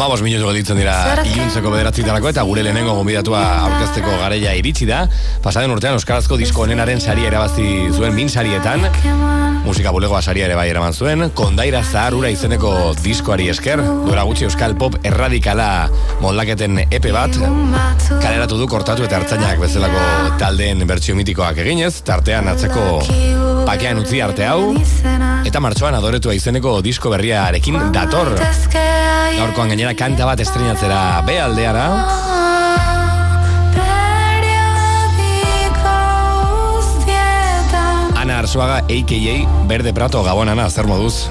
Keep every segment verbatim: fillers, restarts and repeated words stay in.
Amabos minutu gelditzen dira iluntzeko bederatzitarako eta gure lehenengo gonbidatua aurkezteko garaia iritsi da. Pasaden urtean Euskarazko disko onenaren saria erabazi zuen min sarietan. Musika bulegoa saria ere bai eraman zuen. Kondaira Zahar Ura izeneko diskoari esker, duela gutxi euskal pop erradikala moldaketen epe bat kaleratu du Kortatu eta Ertzainak bezalako taldeen bertsio mitikoak eginez, tartean atzeko Pakean utzi arte hau, eta martxoan Adoretua izeneko disko berriarekin dator. Gaurkoan gainera kanta bat estrenatzera be aldeara. Ana Arzuaga, a k a. Berde Prato, Gabon, Ana, zer moduz?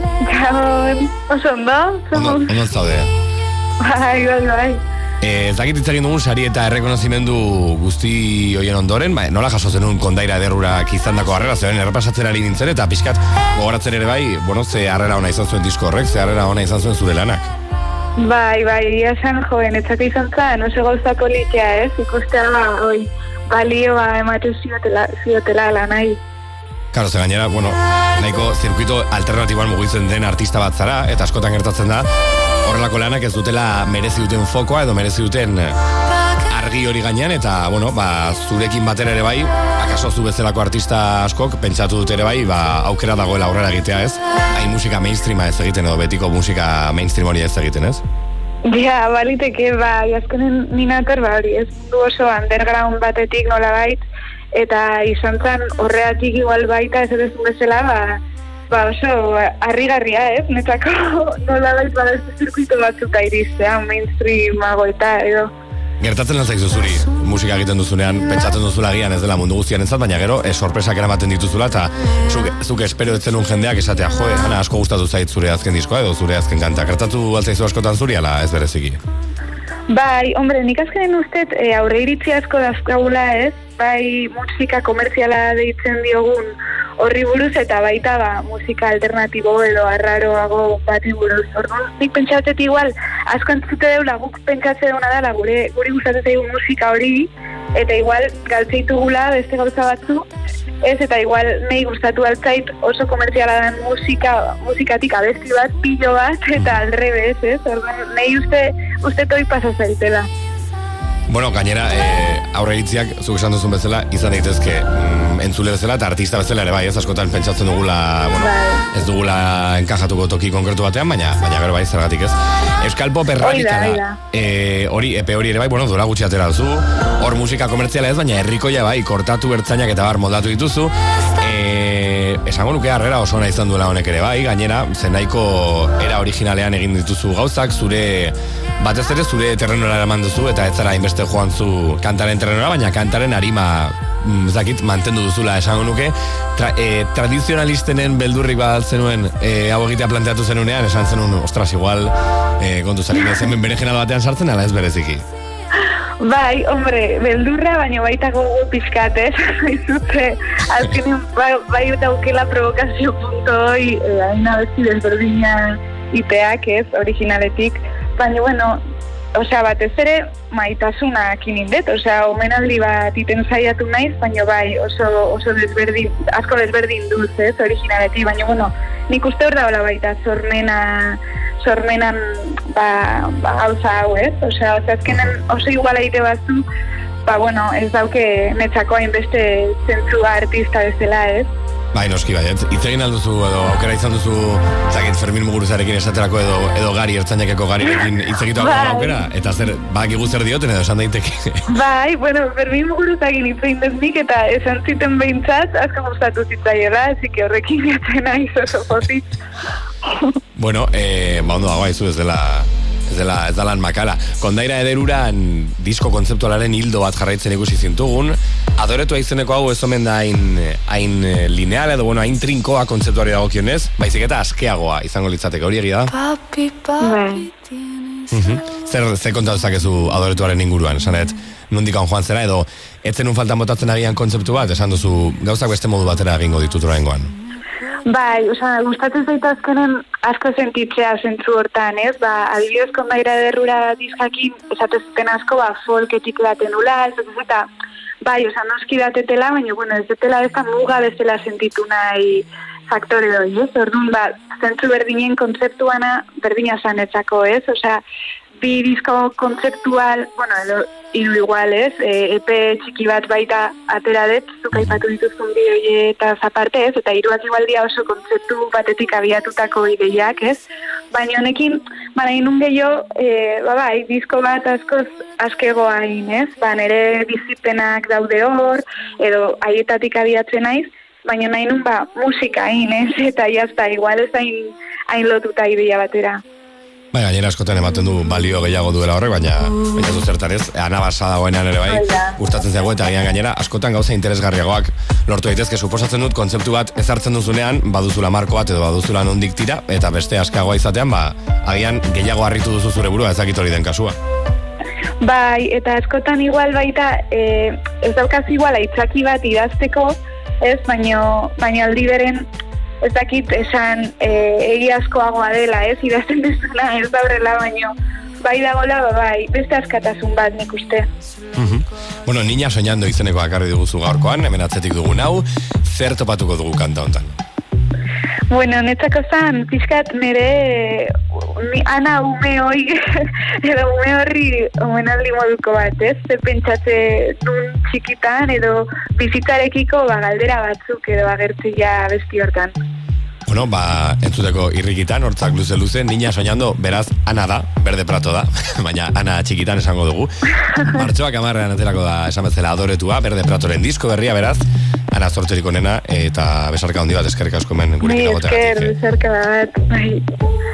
Gabon, oso ondo? Ondo, ondo zaude. Bai, bai, bai. Ez dakit itzagin dugun sari eta errekonozimendu guzti hoien ondoren, ba, nola jaso zenun Kondaira Ederrurak izandako harrera, zeren errepasatzen ari nintzen eta pixkat gogoratzen ere bai, bueno, ze harrera ona izan zuen disko horrek, ze harrera ona izan zuen zure lanak. Bai, bai, ia esan joven, etzak izan zan, oso gauza politia ez, ikustea ba, oi, balioa ematen ziotela, ziotela lanai. Karo, ze gainera, bueno, nahiko zirkuito alternatiboan mugitzen den artista bat zara, eta askotan gertatzen da, horrelako lanak ez dutela merezi duten fokoa edo merezi duten argi hori gainean, eta, bueno, ba, zurekin batera ere bai, akaso zu bezalako artista askok, pentsatu dut ere bai, ba, aukera dagoela aurrera egitea ez, hain musika mainstreama ez egiten edo betiko musika mainstream hori ez egiten ez? Ja, baliteke, ba, azkenen ninator, ba, hori, ez du oso underground batetik nola bait, eta izan zen horreatik igual baita ez edezun bezala, ba, ba oso harrigarria, ez? Netako nola bait bada ez zirkuito batzuta iriztea, mainstreamago eta edo. Gertatzen lan zaizu zuri, musika egiten duzunean, pentsatzen duzula gian ez dela mundu guztian entzat, baina gero, e, sorpresak eramaten dituzula, eta zuk, zuk espero etzenun jendeak esatea, joe, Ana, asko gustatu zait zure azken diskoa edo zure azken kanta. Gertatu altzaizu askotan zuri, ala ez bereziki? Bai, hombre, nik azkenen ustez e, aurre iritzi asko dazkagula ez, bai musika komertziala deitzen diogun horri buruz eta baita ba, musika alternatibo edo arraroago bati buruz. Orduan, nik pentsatzet igual, asko entzute deula guk pentsatze duna dela gure guri gustatzen zaigu musika hori, eta igual galtzeitugula beste gauza batzu, ez, eta igual nahi gustatu altzait oso komertziala den musika, musikatik abesti bat, pillo bat, eta alrebez, ez? Orduan, nahi uste, uste toi pasa zaitela. Bueno, gainera, eh, aurre iritziak, zuk esan duzun bezala, izan daitezke mm, entzule bezala eta artista bezala ere bai, ez askotan pentsatzen dugula, bueno, bai. ez dugula enkajatuko toki konkretu batean, baina baina gero bai zergatik ez. Euskal Pop erradikala, eh, hori, epe hori ere bai, bueno, duela gutxi atera duzu, hor musika komertziala ez, baina herrikoia bai, Kortatu, Ertzainak eta bar moldatu dituzu, eh, esango nuke harrera oso ona izan duela honek ere bai, gainera, zenaiko era originalean egin dituzu gauzak, zure batez ere zure terrenora eraman duzu eta ez zara hainbeste joan zu kantaren terrenora, baina kantaren arima zakit mantendu duzula esango nuke. Tra, e, tradizionalistenen beldurrik bat zenuen e, hau egitea planteatu zenunean, esan zenun, ostras, igual e, kontu zarin ez hemen berenjenal batean sartzen, ala ez bereziki? Bai, hombre, beldurra, baina baita gogo pizkat, ez? Izute, azkenin, bai, bai daukela provokazio punto hoi, eh, hain abesti desberdina iteak, ez, originaletik, baina, bueno, osea, batez ere, maitasunak inindet, osea, omenaldi bat iten zaiatu naiz, baina bai, oso, oso desberdin, asko desberdin duz, ez, originaletik, baina, bueno, nik uste hor daola baita, sormena, sormenan, ba, ba, gauza hau, ez, osea, azkenen oso iguala egite batzu, ba, bueno, ez dauke netzako hainbeste zentzua artista bezala, ez. Bai, noski bai, hitz egin alduzu edo aukera izan duzu, zakit Fermin Muguruzarekin esaterako edo edo Gari Ertzainakeko Garirekin hitz egitu bai. Aukera, eta zer, badakigu zer dioten edo esan daiteke. Bai, bueno, Fermin Muguruzarekin hitz egin deznik eta esan ziten behintzat, asko gustatu zitzaiela, así que horrekin jatzen naiz oso pozik. Bueno, eh, ba ondo dago aizu ez dela ez dela, ez dalan makala. Kondaira Ederuran disko kontzeptualaren hildo bat jarraitzen ikusi zintugun, Adoretua izeneko hau ez omen da hain, hain lineal edo, bueno, hain trinkoa kontzeptuari dagokionez, baizik eta askeagoa izango litzateke, hori egia da? Papi, papi, uh-huh. Zer, zer kontatu zakezu Adoretuaren inguruan, esanet, nondikan joan zera, edo etzen un faltan botatzen agian kontzeptu bat, esan duzu gauzak beste modu batera egingo ditut oraingoan. Bai, osea, gustatzen zait azkenen asko sentitzea zentzu hortan, ez? Ba, adibidez Kondaira Ederrura diskakin esatezten asko, ba, folketik daten ula, ez dut eta, bai, osea, noski datetela, baina, bueno, ez detela ez da muga bezala sentitu nahi faktore doi, ez? Orduan, ba, zentzu berdinen kontzeptuana berdina zanetzako, ez? Osea, bi disko kontzeptual, bueno, edo, hiru igual, ez? E, epe txiki bat baita atera dut, zuk aipatu dituzun bideoie eta zaparte, ez? Eta hiruak igual dia oso kontzeptu batetik abiatutako ideiak, ez? Baina honekin, bana inun gehiago, e, ba bai, disko bat askoz askegoa hain, ez? Ba, nire bizipenak daude hor, edo haietatik abiatzen naiz, baina nahi nun, ba, musika hain, ez? Eta jazta, igual ez hain, hain lotuta ideia batera. Bai, gainera askotan ematen du balio gehiago duela horrek, baina baina du zertarez, anabasa dagoenan ere bai, gustatzen zago eta gian gainera askotan gauza interesgarriagoak lortu daitezke. Suposatzen dut kontzeptu bat ezartzen duzunean, baduzula marko bat edo baduzula nondik tira, eta beste askagoa izatean, ba, agian gehiago harritu duzu zure burua, ezakit hori den kasua. Bai, eta askotan igual baita, e, ez daukaz igual aitzaki bat idazteko, ez, baino, baino aldi beren, ez dakit esan e, egiazkoagoa dela, ez, idazten dezuna, ez da horrela, baino, bai dagoela, bai, beste askatasun bat nik uste. Uh-huh. Bueno, Niña Soñando izeneko akarri duguzu gaurkoan, hemen atzetik dugun hau, zer topatuko dugu kanta hontan? Bueno, netzako zan, pixkat nire mi, ana ume hoi, edo ume horri omenaldi moduko bat, ez? Zer pentsatze nun txikitan, edo bizitzarekiko ba, galdera batzuk, edo agertzia besti hortan. Bueno, ba, entzuteko irrikitan, hortzak luze-luze, Niña Soñando, beraz, Ana da, Berde Prato da, baina Ana txikitan esango dugu. Martxoak amarrean aterako da, esan bezala adoretua, Berde Pratoren disko berria, beraz, Ana zortzerik onena, eta besarka handi bat eskerrik asko hemen gurekin agotegatik. Bai, esker, besarka bat, bai.